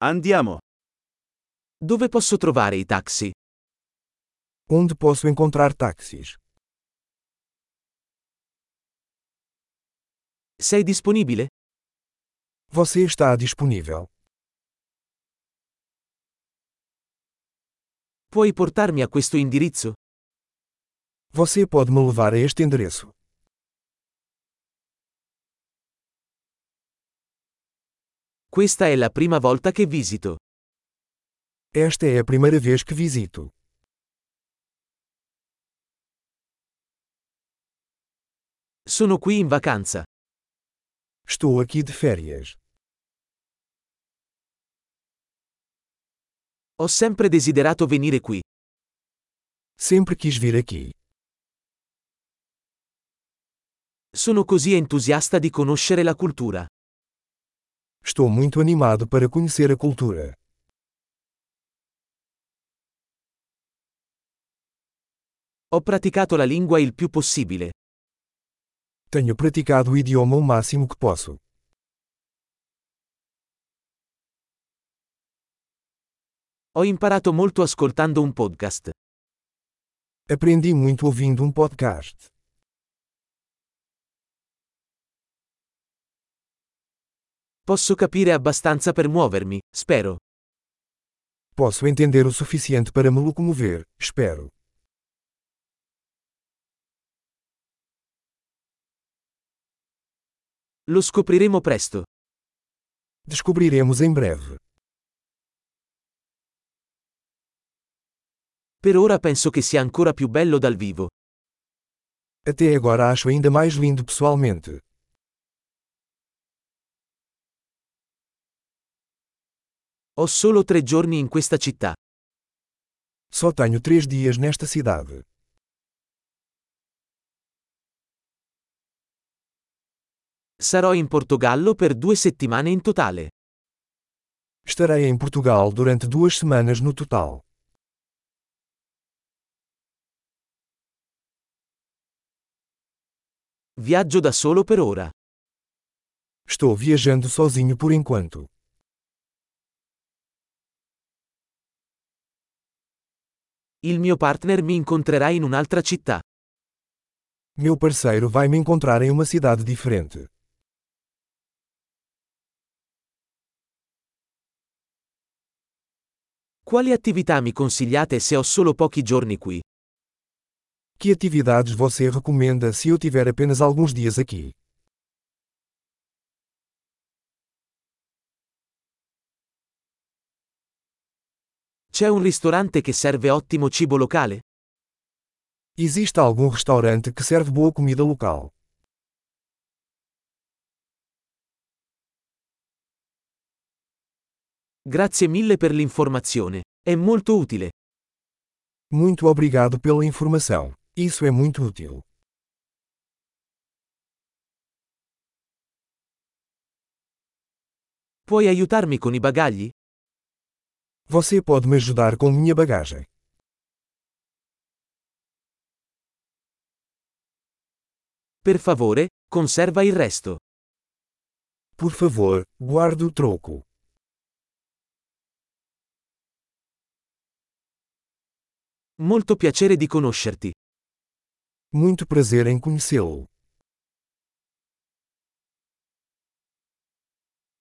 Andiamo. Dove posso trovare i taxi? Onde posso encontrar táxis? Sei disponibile? Você está disponível. Puoi portarmi a questo indirizzo? Você pode me levar a este endereço. Questa è la prima volta che visito. Esta é a primeira vez que visito. Sono qui in vacanza. Estou aqui de férias. Ho sempre desiderato venire qui. Sempre quis vir aqui. Sono così entusiasta di conoscere la cultura. Estou muito animado para conhecer a cultura. Ho praticato la lingua il più possibile. Tenho praticado o idioma o máximo que posso. Ho imparato molto ascoltando un podcast. Aprendi muito ouvindo um podcast. Posso capire abbastanza per muovermi, spero. Posso entender o suficiente para me locomover, espero. Lo scopriremo presto. Descobriremos em breve. Per ora penso che sia ancora più bello dal vivo. Até agora acho ainda mais lindo pessoalmente. Ho solo 3 giorni in questa città. Só tenho 3 dias nesta cidade. Sarò in Portogallo per 2 settimane in totale. Estarei em Portugal durante 2 semanas no total. Viaggio da solo per ora. Estou viajando sozinho por enquanto. Il mio partner mi incontrerà in un'altra città. Meu parceiro vai me encontrar em uma cidade diferente. Quali attività mi consigliate se ho solo pochi giorni qui? Que atividades você recomenda se eu tiver apenas alguns dias aqui? C'è un ristorante che serve ottimo cibo locale? Existe algum restaurante que serve boa comida local? Grazie mille per l'informazione. È molto utile. Muito obrigado pela informação. Isso é muito útil. Puoi aiutarmi con i bagagli? Você pode me ajudar com minha bagagem. Per favore, conserva il resto. Por favor, guarde o troco. Molto piacere di conoscerti. Muito prazer em conhecê-lo.